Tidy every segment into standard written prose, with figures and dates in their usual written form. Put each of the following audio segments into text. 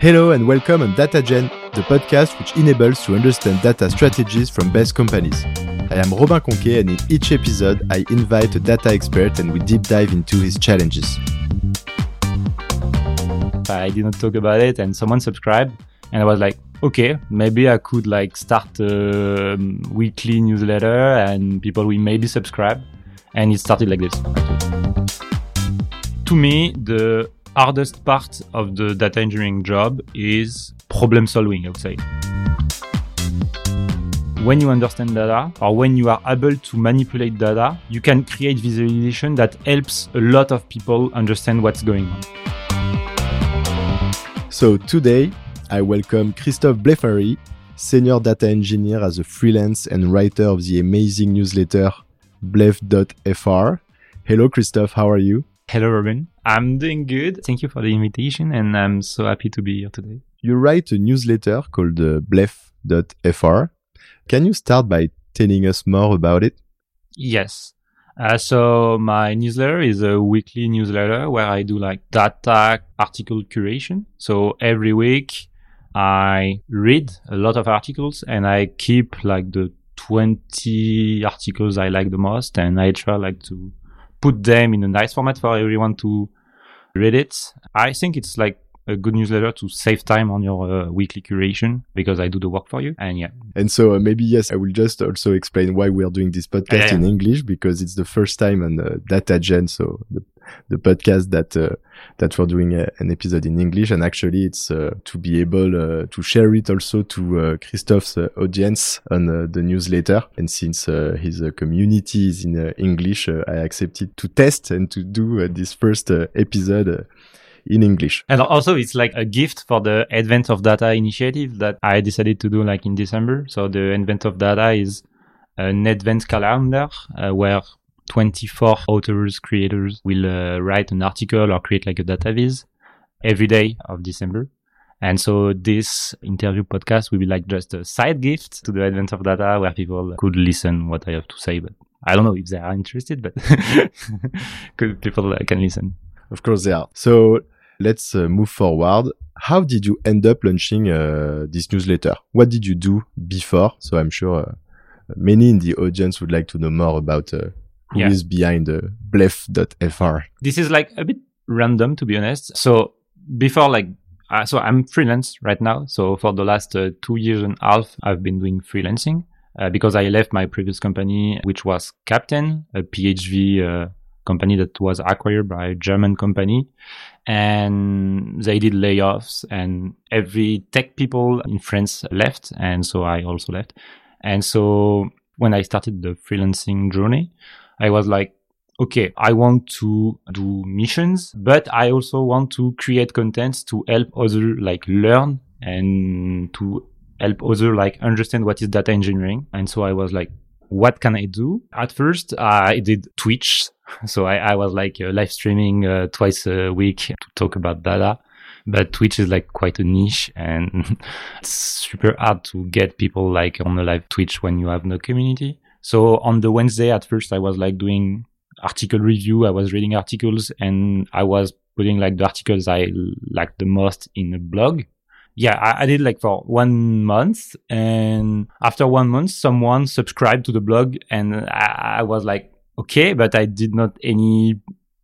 Hello and welcome on DataGen, the podcast which enables to understand data strategies from best companies. I am Robin Conquet, and in each episode I invite a data expert and we deep dive into his challenges. I did not talk about it and someone subscribed and I was like, okay, maybe I could start a weekly newsletter and people will maybe subscribe, and it started like this. To me, the hardest part of the data engineering job is problem solving, I would say. When you understand data, or when you are able to manipulate data, you can create visualization that helps a lot of people understand what's going on. So today, I welcome Christophe Blefary, senior data engineer as a freelance and writer of the amazing newsletter blef.fr. Hello, Christophe, how are you? Hello, Robin. I'm doing good. Thank you for the invitation, and I'm so happy to be here today. You write a newsletter called blef.fr. Can you start by telling us more about it? Yes. So my newsletter is a weekly newsletter where I do data article curation. So every week I read a lot of articles and I keep the 20 articles I like the most, and I try to put them in a nice format for everyone to read it. I think it's a good newsletter to save time on your weekly curation because I do the work for you. And yeah. And so maybe, yes, I will just also explain why we are doing this podcast in English, because it's the first time on DataGen, so the podcast that we're doing an episode in English. And actually it's to be able to share it also to Christophe's audience on the newsletter. And since his community is in English, I accepted to test and to do this first episode in English. And also it's a gift for the Advent of Data initiative that I decided to do in December. So the Advent of Data is an advent calendar where 24 authors, creators will write an article or create a data viz every day of December. And so this interview podcast will be just a side gift to the Advent of Data where people could listen what I have to say. But I don't know if they are interested, but people can listen. Of course they are. So let's move forward. How did you end up launching this newsletter? What did you do before? So I'm sure many in the audience would like to know more about who is behind blef.fr. This is a bit random, to be honest. So before so I'm freelance right now. So for the last 2 years and a half, I've been doing freelancing because I left my previous company, which was Captain, a PHV company that was acquired by a German company, and they did layoffs and every tech people in France left, and so I also left. And so when I started the freelancing journey, I was okay, I want to do missions, but I also want to create contents to help others learn and to help others understand what is data engineering. And so I was what can I do? At first, I did Twitch. So I was live streaming twice a week to talk about data. But Twitch is quite a niche, and it's super hard to get people on a live Twitch when you have no community. So on the Wednesday, at first, I was doing article review. I was reading articles and I was putting the articles I liked the most in a blog. Yeah, I did for 1 month, and after 1 month, someone subscribed to the blog, and I was okay, but I did not any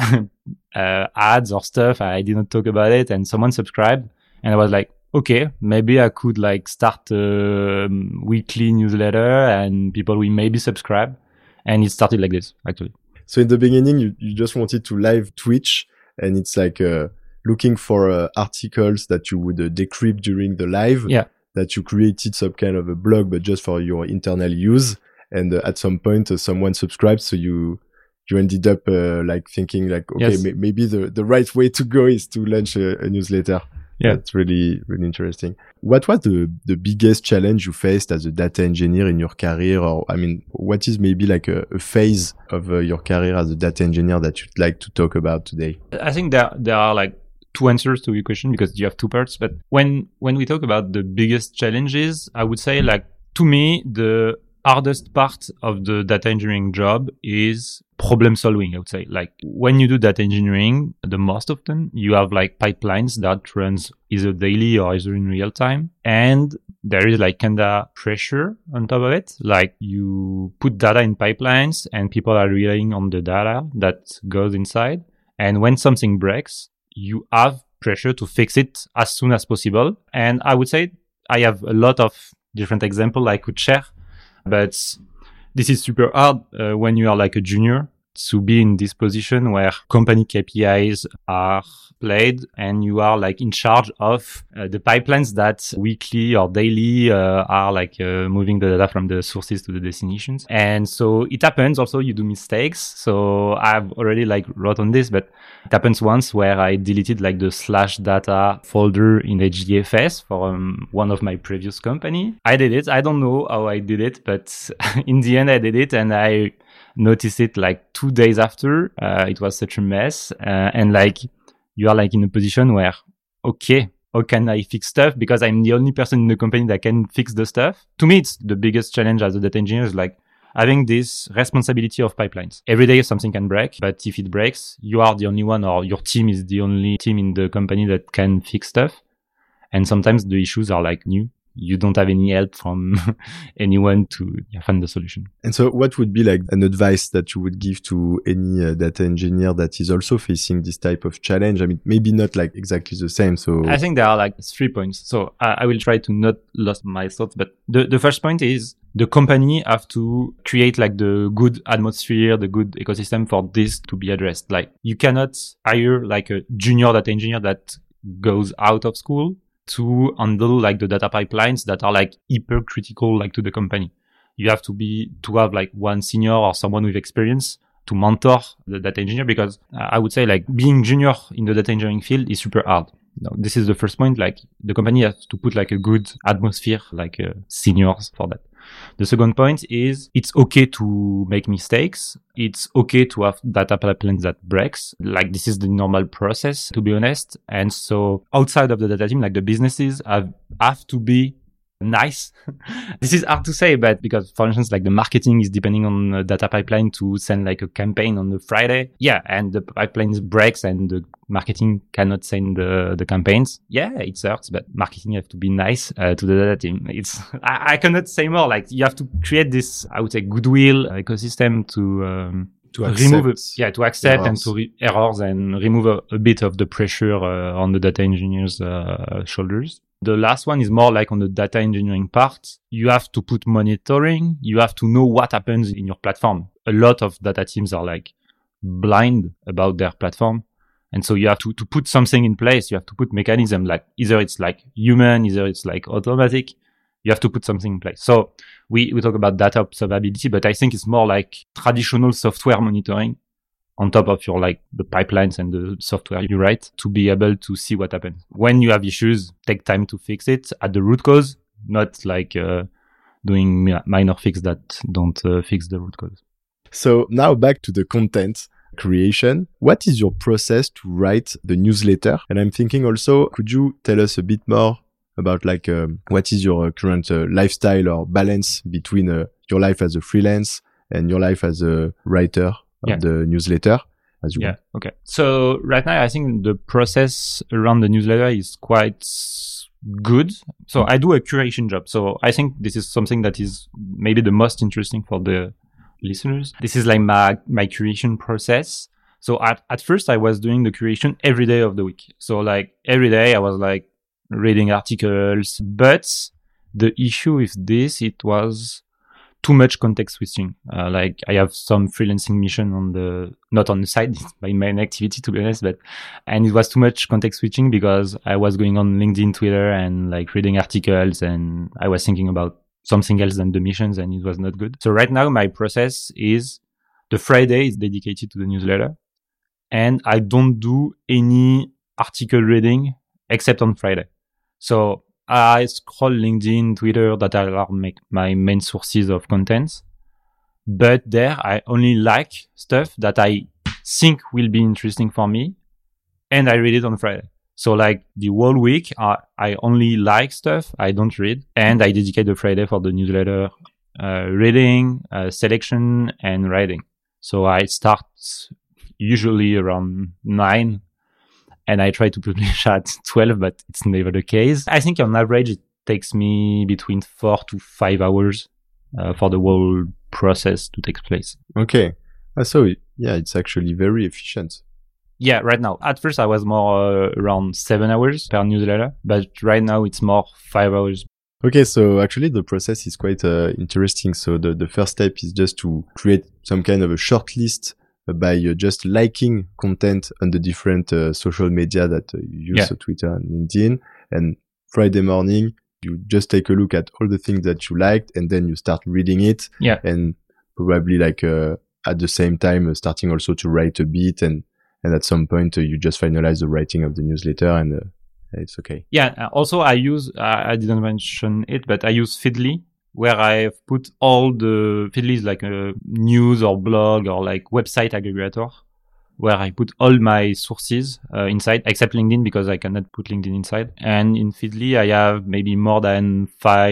ads or stuff. I did not talk about it, and someone subscribed, and I was okay, maybe I could start a weekly newsletter, and people will maybe subscribe, and it started like this actually. So in the beginning, you just wanted to live Twitch, and it's looking for articles that you would decrypt during the live, that you created some kind of a blog, but just for your internal use. And at some point, someone subscribed, so you ended up thinking okay, yes. Maybe the right way to go is to launch a newsletter. Yeah, that's really, really interesting. What was the biggest challenge you faced as a data engineer in your career? Or, what is maybe a phase of your career as a data engineer that you'd like to talk about today? I think there are 2 answers to your question because you have 2 parts. But when we talk about the biggest challenges, I would say to me, the hardest part of the data engineering job is problem solving, I would say. Like when you do data engineering, the most often you have like pipelines that runs either daily or either in real time. And there is like kind of pressure on top of it. Like you put data in pipelines and people are relying on the data that goes inside. And when something breaks, you have pressure to fix it as soon as possible. And I would say I have a lot of different examples I could share, but this is super hard when you are like a junior to be in this position where company KPIs are played and you are like in charge of the pipelines that weekly or daily are like moving the data from the sources to the destinations. And so it happens also you do mistakes. So I've already like wrote on this, but it happens once where I deleted like the /data folder in HDFS for one of my previous company. I did it. I don't know how I did it, but in the end I did it and I noticed it like 2 days after. It was such a mess. And like, you are like in a position where, okay, how can I fix stuff? Because I'm the only person in the company that can fix the stuff. To me, it's the biggest challenge as a data engineer is like having this responsibility of pipelines. Every day something can break, but if it breaks, you are the only one or your team is the only team in the company that can fix stuff. And sometimes the issues are like new. You don't have any help from anyone to find the solution. And so what would be like an advice that you would give to any data engineer that is also facing this type of challenge? I mean, maybe not like exactly the same. So I think there are like 3 points. So I will try to not lose my thoughts, but the first point is the company have to create like the good atmosphere, the good ecosystem for this to be addressed. Like you cannot hire like a junior data engineer that goes out of school to handle like the data pipelines that are like hyper critical like to the company. You have to have like one senior or someone with experience to mentor the data engineer, because I would say like being junior in the data engineering field is super hard. No, this is the first point. Like the company has to put like a good atmosphere, like seniors for that. The second point is it's okay to make mistakes. It's okay to have data pipelines that breaks. Like this is the normal process, to be honest. And so outside of the data team, like the businesses have to be nice. This is hard to say, but because for instance, like the marketing is depending on a data pipeline to send like a campaign on the Friday. Yeah. And the pipeline breaks and the marketing cannot send the campaigns. Yeah, it hurts, but marketing have to be nice to the data team. I cannot say more. Like you have to create this, I would say, goodwill ecosystem to accept and to errors and remove a bit of the pressure on the data engineers' shoulders. The last one is more like on the data engineering part. You have to put monitoring. You have to know what happens in your platform. A lot of data teams are like blind about their platform. And so you have to put something in place. You have to put mechanism, like either it's like human, either it's like automatic. You have to put something in place. So we talk about data observability, but I think it's more like traditional software monitoring on top of your like the pipelines and the software you write to be able to see what happens. When you have issues, take time to fix it at the root cause, not like doing minor fix that don't fix the root cause. So now back to the content creation. What is your process to write the newsletter? And I'm thinking also, could you tell us a bit more about like what is your current lifestyle or balance between your life as a freelance and your life as a writer of the newsletter? Okay. So right now, I think the process around the newsletter is quite good. So I do a curation job. So I think this is something that is maybe the most interesting for the listeners. This is like my curation process. So at first I was doing the curation every day of the week. So like every day I was like reading articles, but the issue with this, it was too much context switching. Like I have some freelancing mission not on the side, it's my main activity to be honest, and it was too much context switching because I was going on LinkedIn, Twitter and like reading articles and I was thinking about something else than the missions and it was not good. So right now my process is the Friday is dedicated to the newsletter and I don't do any article reading except on Friday. So I scroll LinkedIn, Twitter, that are my main sources of content. But there I only like stuff that I think will be interesting for me and I read it on Friday. So like the whole week, I only like stuff I don't read and I dedicate the Friday for the newsletter reading, selection, and writing. So I start usually around 9 and I try to publish at 12, but it's never the case. I think on average, it takes me between 4 to 5 hours for the whole process to take place. Okay. So yeah, it's actually very efficient. Yeah, right now. At first, I was more around 7 hours per newsletter, but right now it's more 5 hours. Okay, so actually the process is quite interesting. So the first step is just to create some kind of a short list by just liking content on the different social media that you use, so Twitter and LinkedIn. And Friday morning, you just take a look at all the things that you liked, and then you start reading it. Yeah. And probably like at the same time starting also to write a bit, and at some point you just finalize the writing of the newsletter, and it's okay. Yeah. Also, I use I didn't mention it, but I use Feedly, where I've put all the Feedly is like a news or blog or like website aggregator, where I put all my sources inside, except LinkedIn because I cannot put LinkedIn inside. And in Feedly, I have maybe more than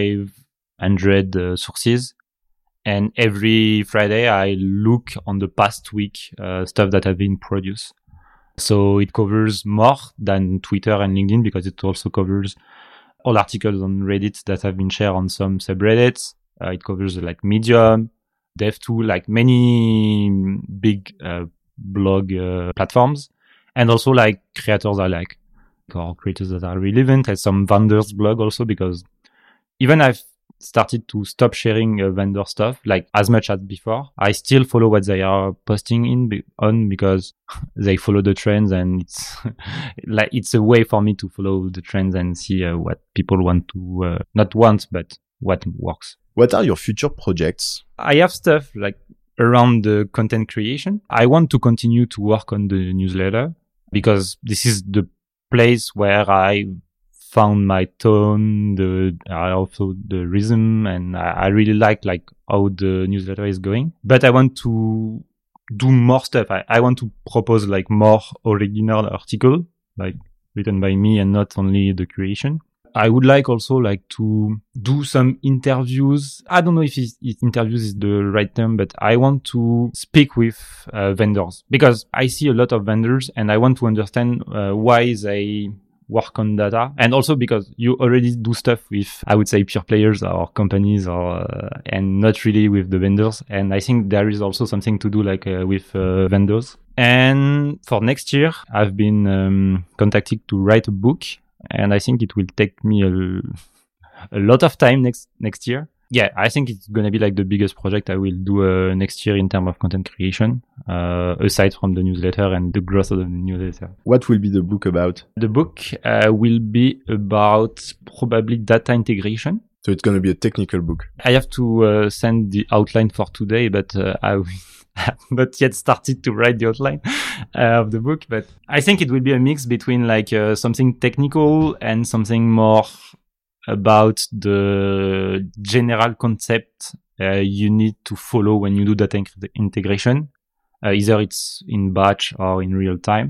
500 sources. And every Friday, I look on the past week stuff that have been produced. So it covers more than Twitter and LinkedIn because it also covers all articles on Reddit that have been shared on some subreddits. It covers like Medium, Dev.to, like many big blog platforms, and also like creators I like, or creators that are relevant, and some vendors blog also, because even I've started to stop sharing vendor stuff like as much as before. I still follow what they are posting on because they follow the trends, and it's like it's a way for me to follow the trends and see what people want to not want, but what works. What are your future projects? I have stuff like around the content creation. I want to continue to work on the newsletter because this is the place where I found my tone, also the rhythm, and I really like how the newsletter is going. But I want to do more stuff. I want to propose like more original article, like written by me and not only the creation. I would like also like to do some interviews. I don't know if interviews is the right term, but I want to speak with vendors because I see a lot of vendors and I want to understand why they work on data, and also because you already do stuff with, I would say, pure players or companies, or and not really with the vendors. And I think there is also something to do like with vendors. And for next year, I've been contacted to write a book, and I think it will take me a lot of time next year. Yeah, I think it's going to be like the biggest project I will do next year in terms of content creation, aside from the newsletter and the growth of the newsletter. What will be the book about? The book will be about probably data integration. So it's going to be a technical book. I have to send the outline for today, but I have not yet started to write the outline of the book. But I think it will be a mix between like something technical and something more about the general concept you need to follow when you do data integration. Either it's in batch or in real time.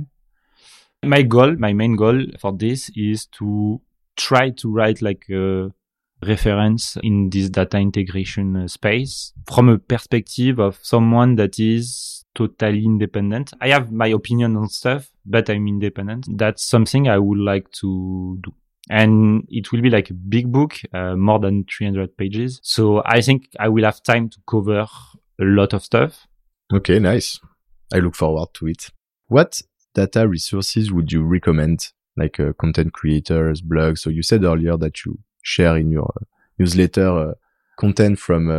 My main goal for this is to try to write like a reference in this data integration space from a perspective of someone that is totally independent. I have my opinion on stuff, but I'm independent. That's something I would like to do. And it will be like a big book, more than 300 pages. So I think I will have time to cover a lot of stuff. Okay, nice. I look forward to it. What data resources would you recommend, like content creators, blogs? So you said earlier that you share in your newsletter content from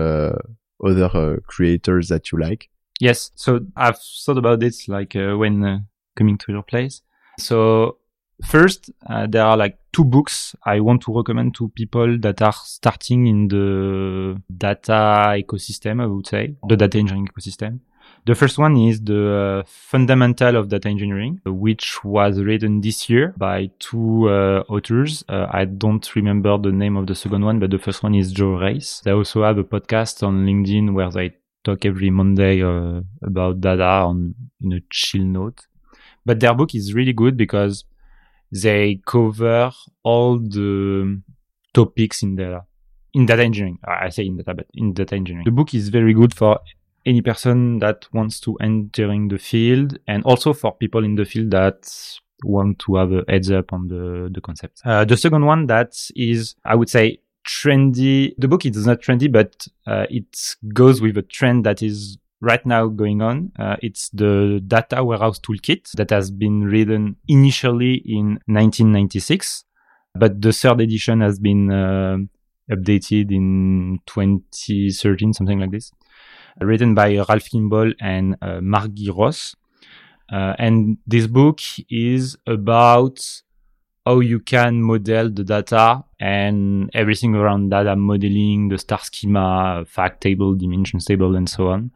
other creators that you like. Yes. So I've thought about this like when coming to your place. So first, there are like 2 books I want to recommend to people that are starting in the data ecosystem, I would say, the data engineering ecosystem. The first one is the Fundamental of Data Engineering, which was written this year by 2 authors. I don't remember the name of the second one, but the first one is Joe Race. They also have a podcast on LinkedIn where they talk every Monday about data in a chill note. But their book is really good because they cover all the topics in data. in data engineering. I say in data, but in data engineering. The book is very good for any person that wants to entering the field, and also for people in the field that want to have a heads up on the concept. The second one that is, I would say, trendy. The book is not trendy, but it goes with a trend that is right now going on. It's the Data Warehouse Toolkit that has been written initially in 1996, but the third edition has been updated in 2013, something like this. Written by Ralph Kimball and Margie Ross. And this book is about how you can model the data and everything around data modeling, the star schema, fact table, dimensions table, and so on.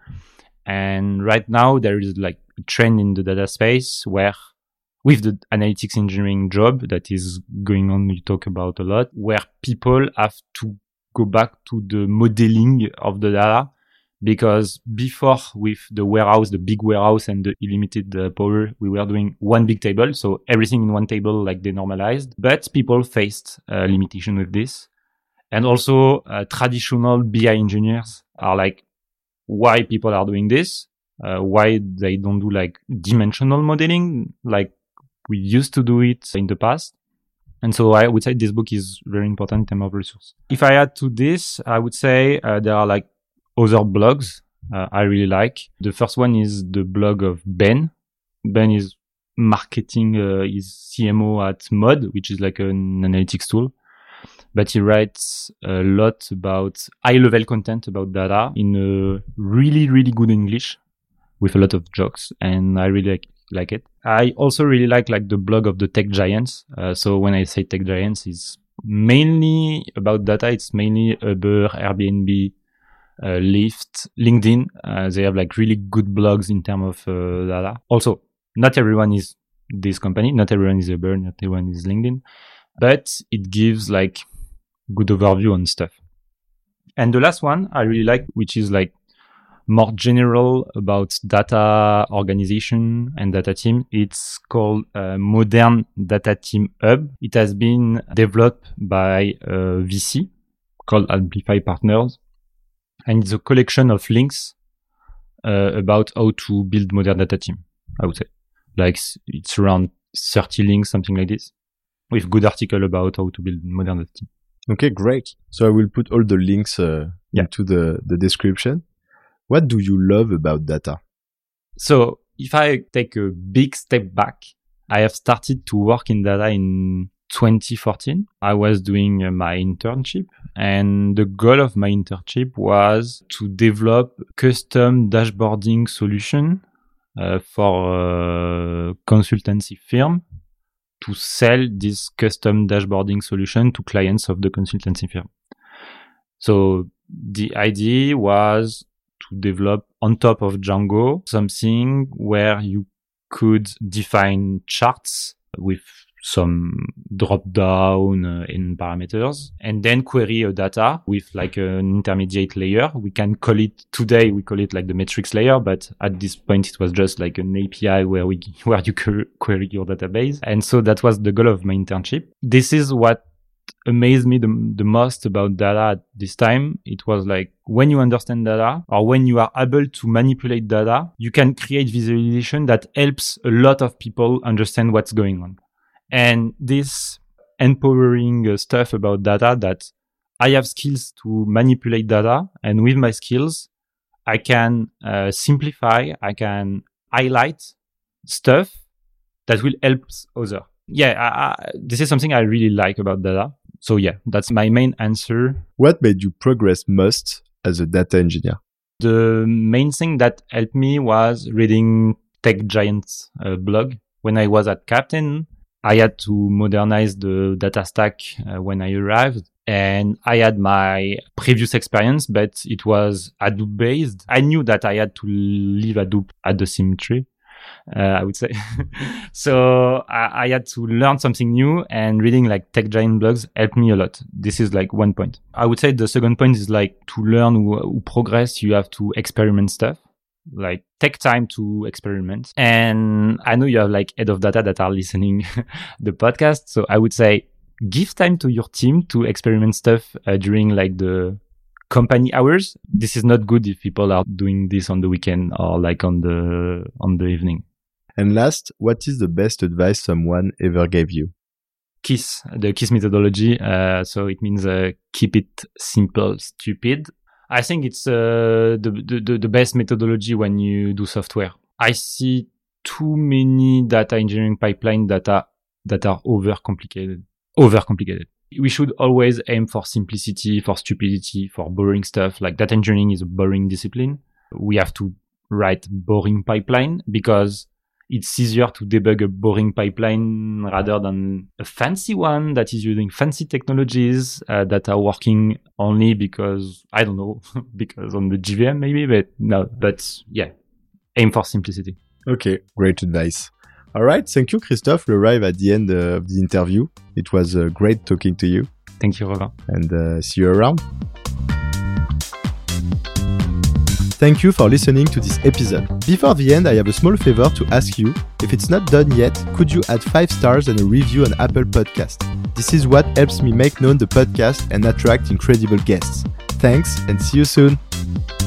And right now there is like a trend in the data space where with the analytics engineering job that is going on, we talk about a lot, where people have to go back to the modeling of the data. Because before, with the warehouse, the big warehouse and the unlimited power, we were doing one big table. So everything in one table, like they normalized. But people faced limitation with this. And also traditional BI engineers are like, why people are doing this? Why they don't do like dimensional modeling like we used to do it in the past? And so I would say this book is very important in terms of resource. If I add to this, I would say there are like other blogs I really like. The first one is the blog of Ben. Ben is marketing, is CMO at Mod, which is like an analytics tool. But he writes a lot about high-level content about data in a really, really good English with a lot of jokes. And I really like it. I also really like the blog of the tech giants. So when I say tech giants, it's mainly about data. It's mainly Uber, Airbnb, Lyft, LinkedIn. They have like really good blogs in terms of data. Also, not everyone is this company. Not everyone is Uber. Not everyone is LinkedIn. But it gives like good overview on stuff. And the last one I really like, which is like more general about data organization and data team. It's called Modern Data Team Hub. It has been developed by a VC called Amplify Partners. And it's a collection of links about how to build modern data team, I would say. Like it's around 30 links, something like this, with good article about how to build modern data team. Okay, great. So I will put all the links into the description. What do you love about data? So if I take a big step back, I have started to work in data in 2014. I was doing my internship, and the goal of my internship was to develop custom dashboarding solution for a consultancy firm to sell this custom dashboarding solution to clients of the consultancy firm. So the idea was to develop on top of Django something where you could define charts with some drop down in parameters and then query a data with like an intermediate layer. We can call it today, we call it like the metrics layer, but at this point it was just like an API where you query your database. And so that was the goal of my internship. This is what amazed me the most about data at this time. It was like when you understand data or when you are able to manipulate data, you can create visualization that helps a lot of people understand what's going on. And this empowering stuff about data, that I have skills to manipulate data, and with my skills, I can simplify, I can highlight stuff that will help others. Yeah, this is something I really like about data. So yeah, that's my main answer. What made you progress most as a data engineer? The main thing that helped me was reading Tech Giants blog. When I was at Captain, I had to modernize the data stack when I arrived. And I had my previous experience, but it was Hadoop based. I knew that I had to leave Hadoop at the symmetry, I would say. So I had to learn something new, and reading like Tech Giant blogs helped me a lot. This is like one point. I would say the second point is like to learn or progress, you have to experiment stuff. Like take time to experiment. And I know you have like head of data that are listening the podcast. So I would say give time to your team to experiment stuff during like the company hours. This is not good if people are doing this on the weekend or like on the evening. And last, what is the best advice someone ever gave you? KISS, the KISS methodology. So it means keep it simple, stupid. I think it's the best methodology when you do software. I see too many data engineering pipelines that are overcomplicated. We should always aim for simplicity, for stupidity, for boring stuff. Like data engineering is a boring discipline. We have to write boring pipeline because it's easier to debug a boring pipeline rather than a fancy one that is using fancy technologies that are working only because, I don't know, because on the JVM maybe, but yeah, aim for simplicity. Okay, great advice. All right, thank you, Christophe. We arrive at the end of the interview. It was great talking to you. Thank you, Robert. And see you around. Thank you for listening to this episode. Before the end, I have a small favor to ask you. If it's not done yet, could you add 5 stars and a review on Apple Podcast? This is what helps me make known the podcast and attract incredible guests. Thanks and see you soon.